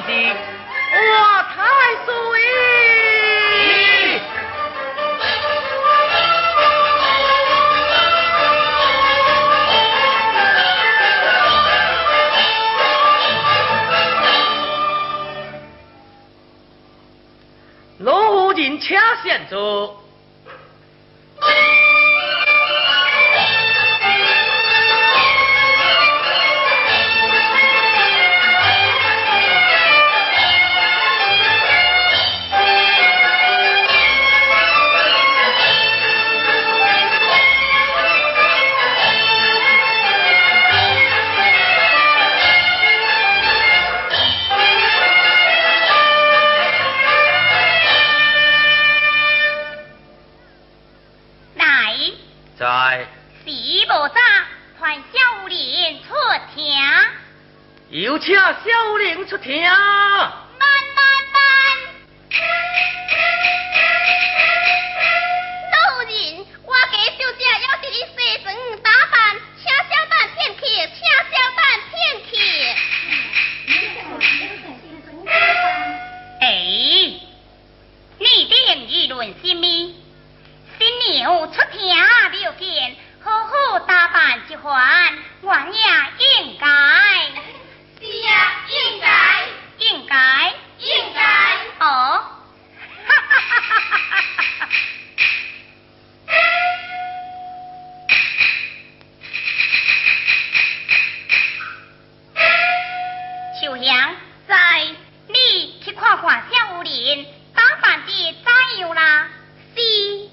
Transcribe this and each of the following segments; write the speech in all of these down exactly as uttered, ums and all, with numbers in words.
是我太岁。罗人请先坐。在是无早传小玲出庭， 有请小玲出庭。慢慢慢，老人，我家小姐要是你西装打扮，请小等片刻，请小等片刻。哎，你定议论什么？新娘出庭没有见，好好打扮一番，我也应该。是啊，应该，应该，应该。哦，哈哈哈哈哈哈！秋香，在你去看看小林打扮的怎样啦？是。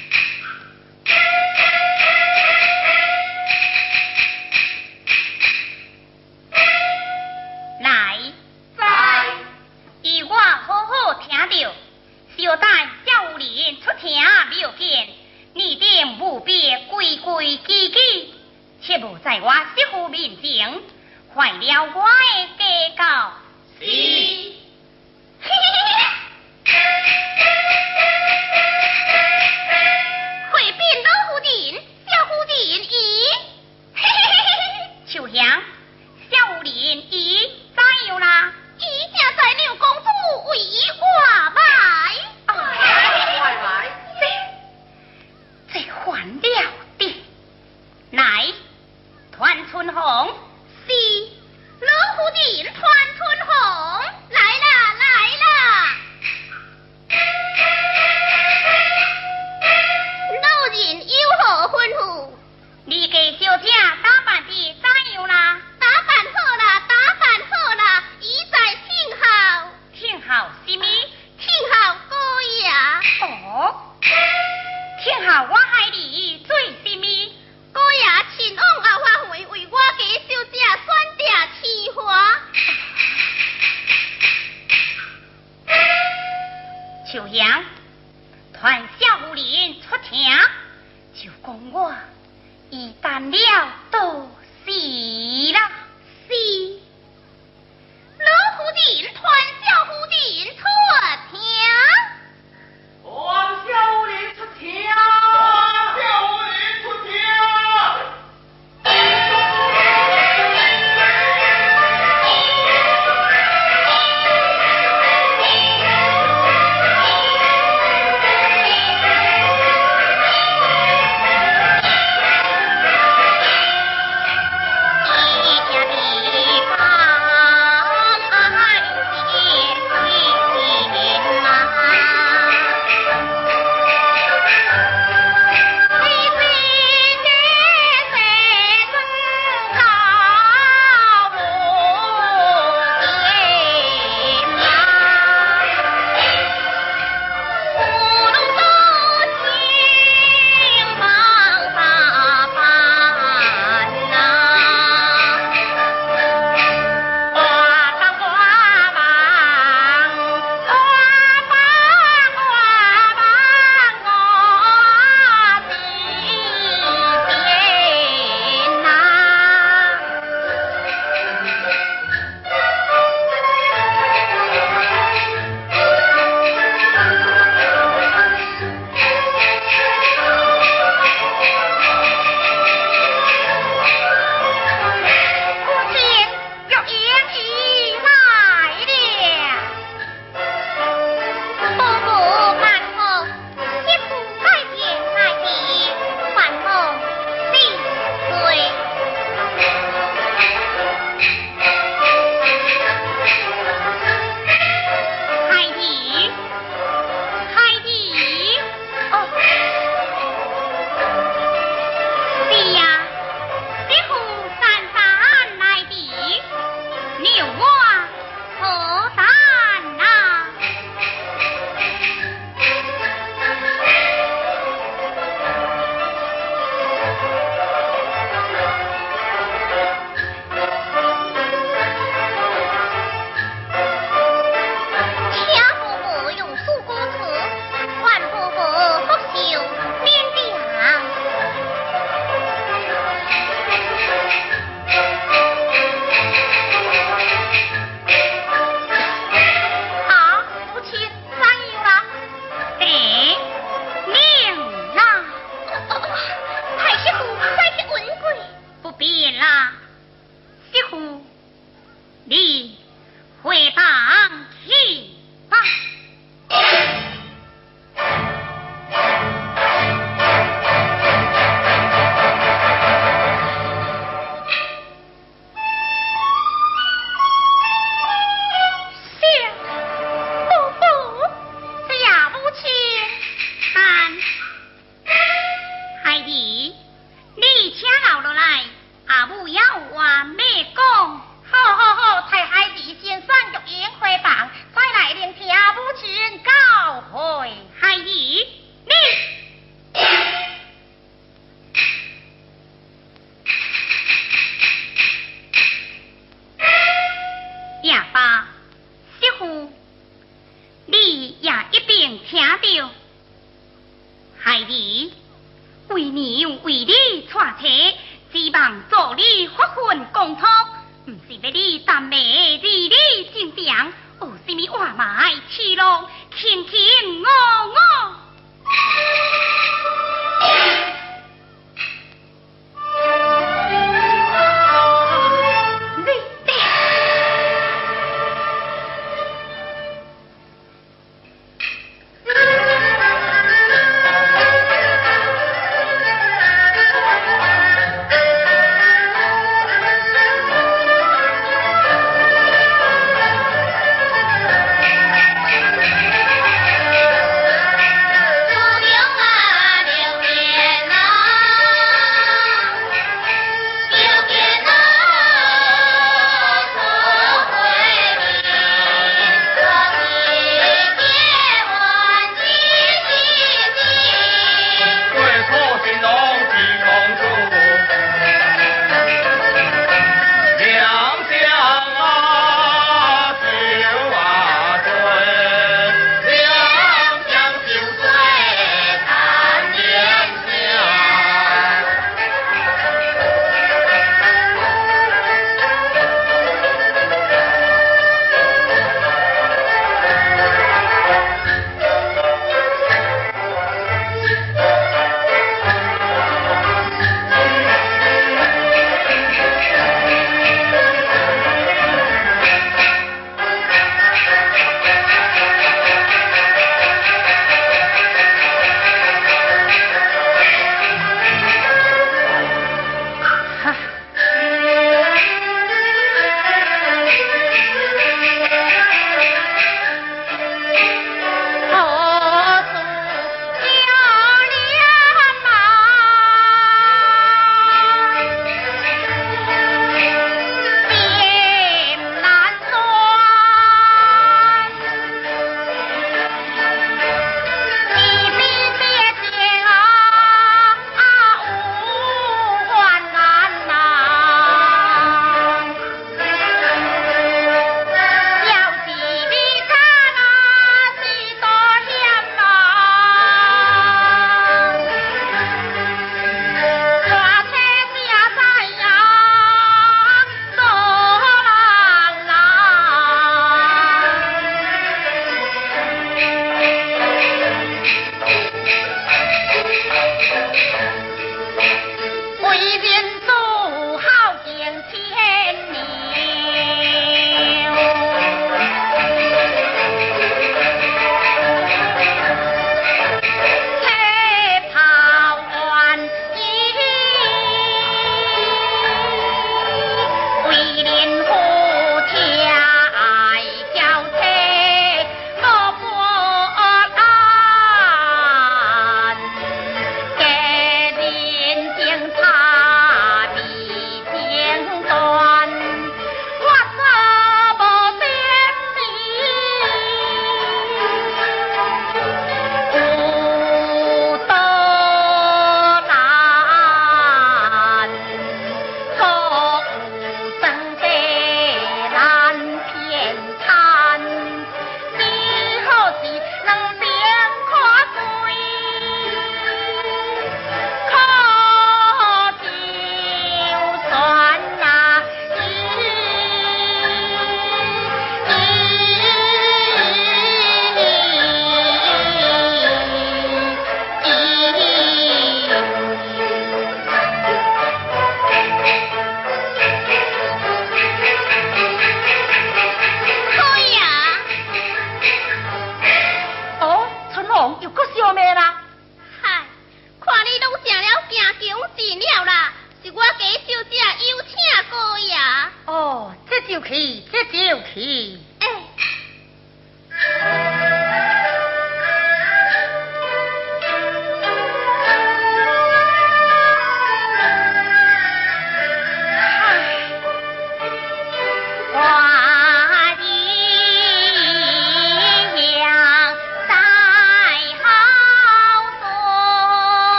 小等小人出庭没有见，你定务必规规矩矩，切勿在我媳妇面前坏了我的家教。是。回禀老夫人，小夫人已。秋香，小人已怎样啦？已正在刘公主为我买。这还了的，乃团春红，是老夫人团春红，来啦来啦！老人有何吩咐？你家小姐打扮的怎样啦？打扮好啦，打扮好啦，已在听候。听候什么？听候歌呀。哦。听候我害你做什么？哥呀，前往后花会为我家小姐选定鲜花。秋香，团小人出庭，就讲我一旦了都是啦，是。老夫人团小夫人出庭。 王小玲出庭，王小玲出庭。 一家的乎？你也一定听到。孩儿，为娘为你娶妻，希望助你发奋公托，不是要你耽美儿女情长，有什么话埋去路，卿卿我我。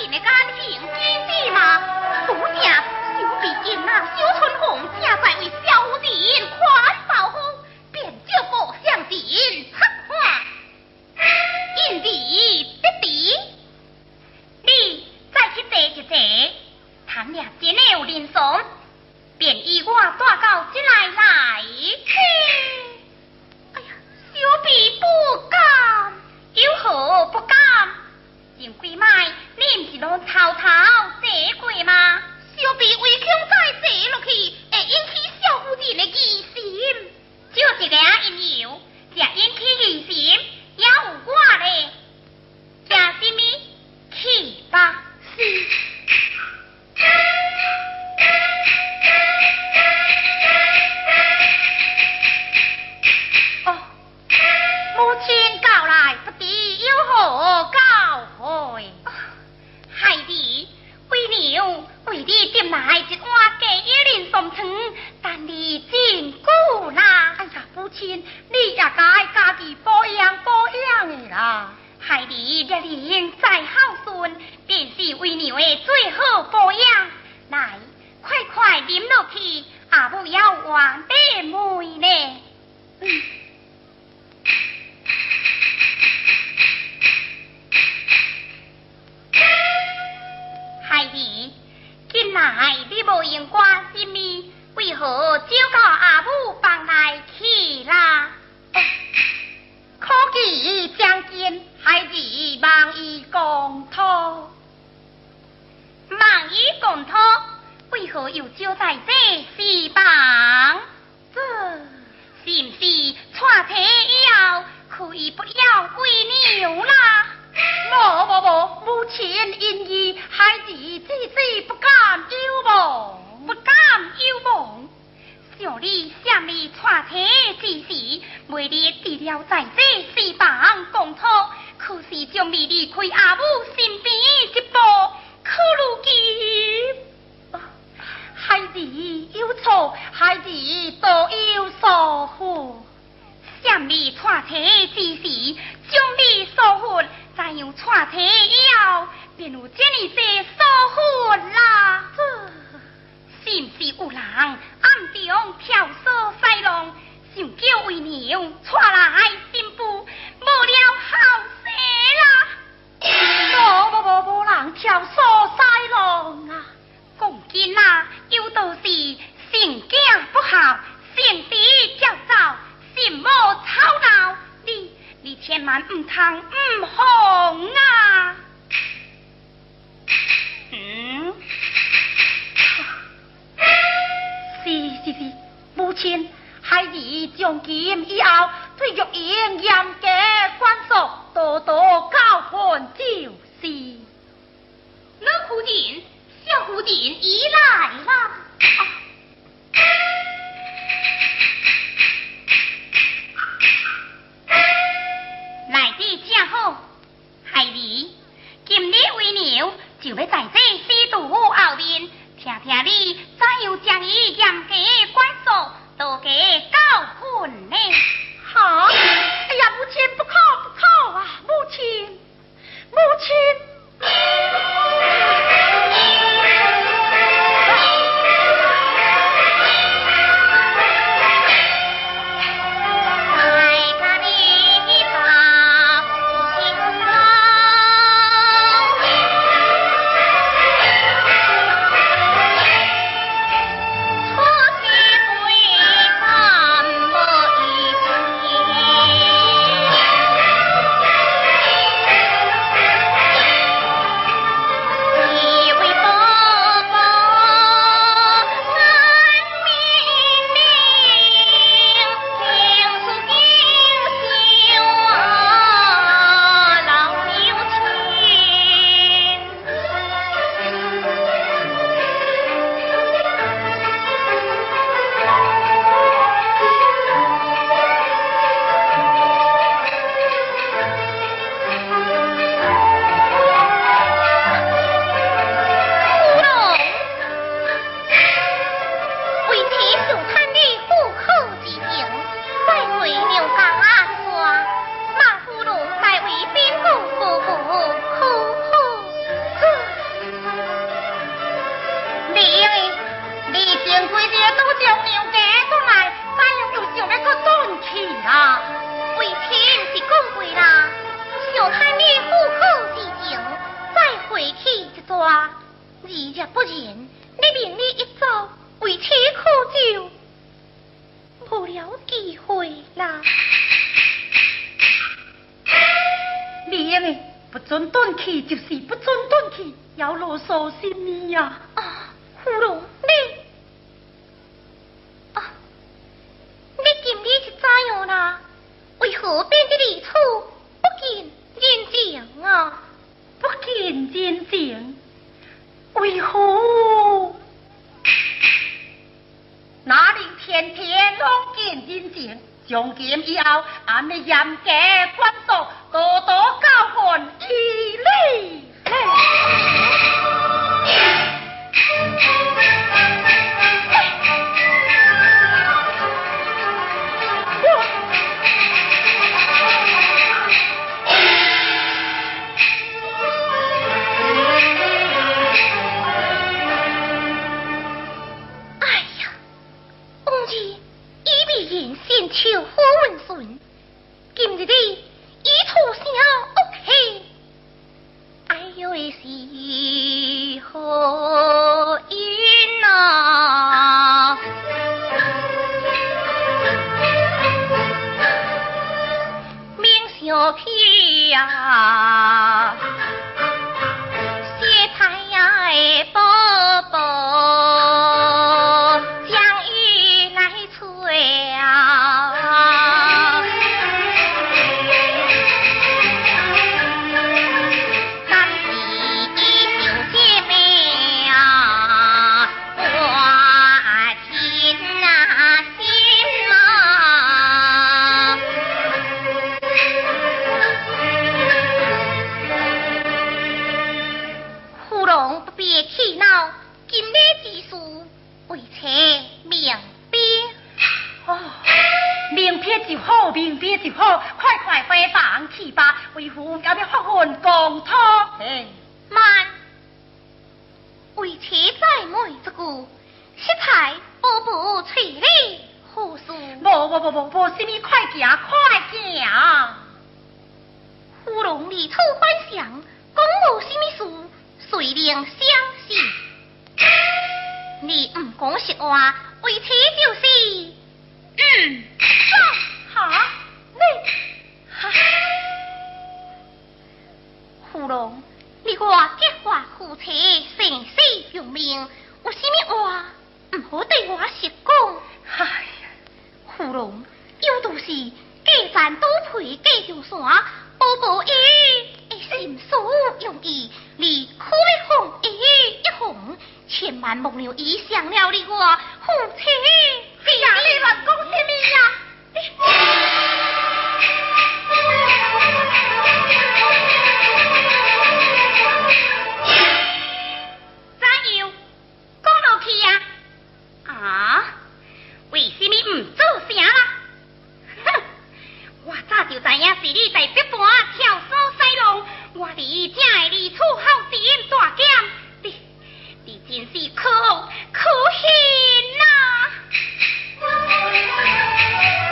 人的感情知知嘛？主家小弟因那小春红家在为小人宽保护，便照顾向人策划，因地得地。你再去坐一坐，倘若真的有人送，便依我带到这来来去。哎呀，小弟不敢，有何不敢？前几摆你唔是拢偷偷坐过吗？小弟为恐再坐落去，会引起小夫人的疑心。就一个因由，才引起疑心，也有我咧。惊什么？去吧。是。哦，母亲告来，不知有何告回？孩儿，为娘为你点来一碗鸡一人送汤，但你真久啦。哎呀，母亲，你也该家己保养保养的啦。孩儿热人再孝顺，便是为娘的最好保养。来，快快啉落去，阿母要换地妹呢。嗯。孩儿，近来你无用关心咪，为何照到阿母房内去啦？哦，可记将军，孩儿望伊公托，望伊公托，为何又照在这四房？这是唔是娶妻以后，可以不要归娘啦？无无无，母亲因意，孩子只是不敢有梦，不敢有梦。想你想你娶妻之时，每日除了在这四房共托，可是将你离开阿母身边一步，可如今，孩子有错，孩子都有疏忽。想你娶妻之时，将你疏忽。再用娶妻以后，便有这么些疏忽啦。这是唔是有人暗中挑唆西弄，想叫为娘娶来新妇，无了后世啦？无无无无人挑唆西弄啊！讲紧啊，有道是性景不好，性子较早，心无吵闹。你。你千万唔通唔红啊！嗯，是是是，母亲，孩儿从今以后对玉英严格管束，多多教训就是。老夫人，小夫人已来啦。啊来得正好，孩儿，今日为娘就要在这司徒府后面，听听你怎样将伊严格管束，多加教训呢？好，哎呀，母亲不可不可啊，母亲，母亲。 话，日日不言，你明日一早为妻苦就无了机会啦。 你用的不准顿去，就是不准顿去，要啰嗦什么呀？ 啊，芙蓉你啊，你今日是怎样啦？为何变得如此不近人情啊？ 不近人情，为何？哪里天天拢近人情？从今以后，俺们严格管束，多多教训以礼。 可可恨呐！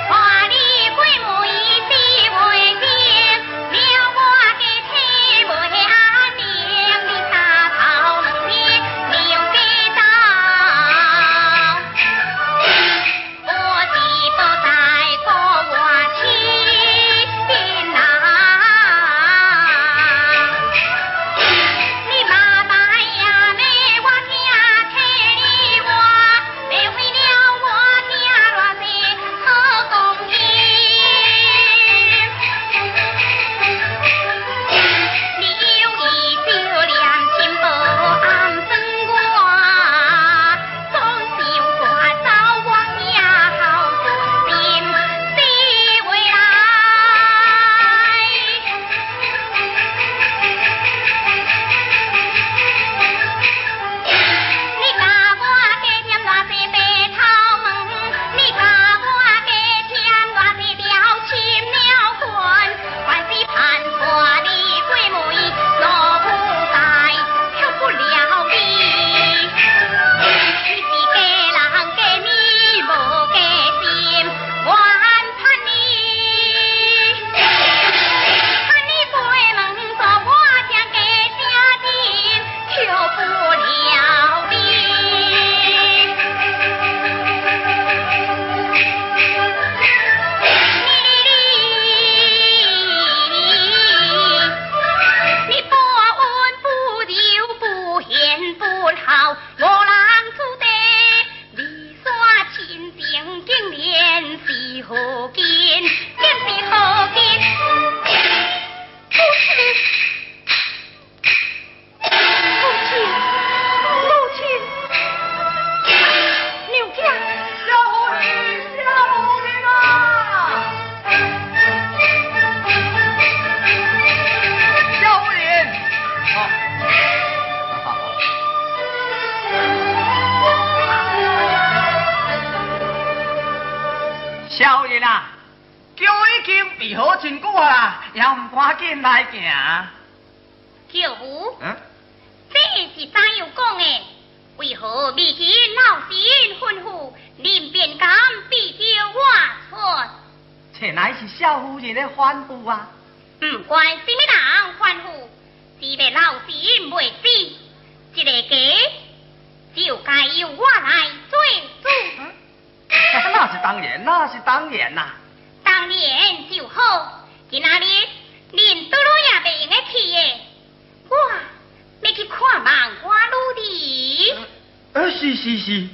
少爷啊，桥已经备好真久啊，也唔赶紧来行。 舅母， 嗯， 这是怎样讲的？为何未见老身吩咐，您便敢逼着我出？ 这乃是少夫人的吩咐啊。 不管什么人吩咐，只要老身未死，这个家就该由我来做主。 嗯那是当然，那是当然呐、啊。 当然就好。今仔日恁倒落也袂用得去的，我要去看望我女儿。 呃，是是是。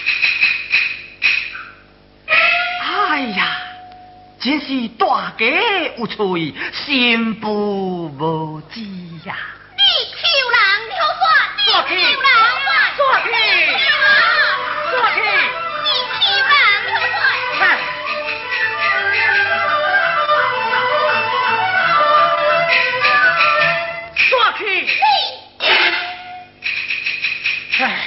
哎呀，真是大家有趣，新妇无知呀、啊。 你求人了算，你求人算， 坐去，坐去， 你求人了算。 看。坐去。唉，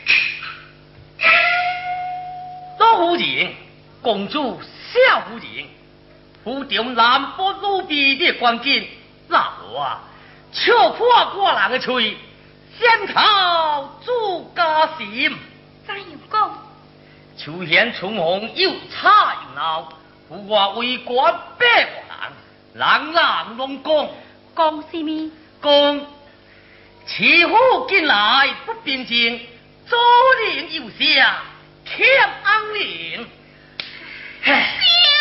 老夫人、公主、小夫人，府中南北路边的关键，那我啊，笑破我人的嘴，先靠主家心。 怎样讲？ 秋贤春红又差又闹，府外为官百万人，人人拢讲讲什么？ 讲欺负进来不平静，左邻右舍欠安宁。唉。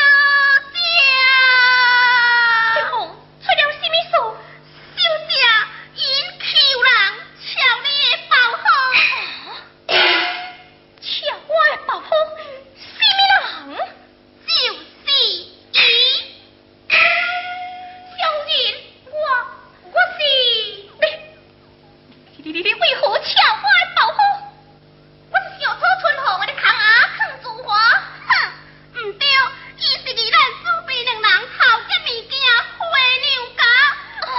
春红出了什么事？小姐因求人抢你的包袱，抢我的包袱，什么人？就是伊。小人，我我是你你你你为何抢我的包袱？我是小丑春红，我的扛牙扛住我，哼！唔对，伊是离咱祖辈两人头家物件花娘家。哦，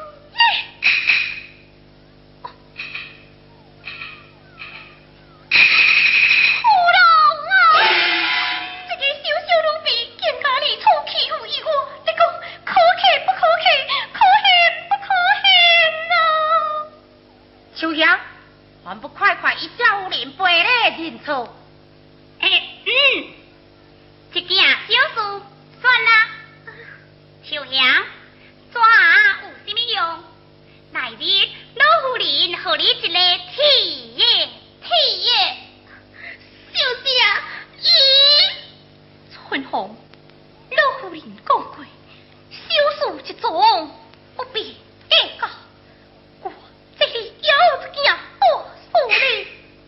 胡龙啊！这个小小奴婢竟家里出欺负伊我，你讲可气不可气？可恨不可恨啊！ 秋香，还不快快以小夫人赔礼认错？ 哎，嗯。这件小事算啦，秋香，纸有什么用？来日老夫人给你一个体验，体验。小姐，咦？春红，老夫人讲过，小事一桩不必计较。我这里有一件大事呢。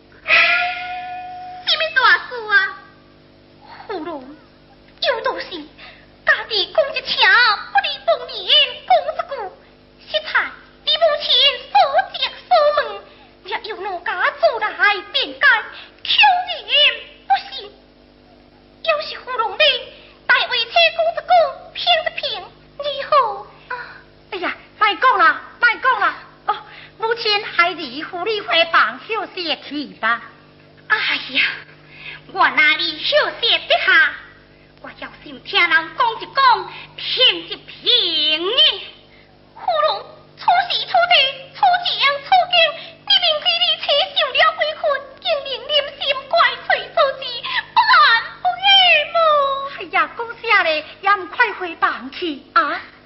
什么大事啊？胡龙，有道是家己讲一声，不离逢年讲一句。实在你母亲所讲所问，也由奴家做来辩解，求人不信。要是胡龙你大话车讲一讲，骗一骗，以后啊， 哎呀，卖讲啦，卖讲啦！哦，母亲孩子护理回房休息去吧。 哎呀，我哪里休息得下？我要是听人讲一讲，骗一骗呢。胡龙出时出地，出将出京，你明知你妻受了鬼困，竟令念心怪罪所致，不安不安么？ 哎呀，讲啥嘞？也唔快回房去啊！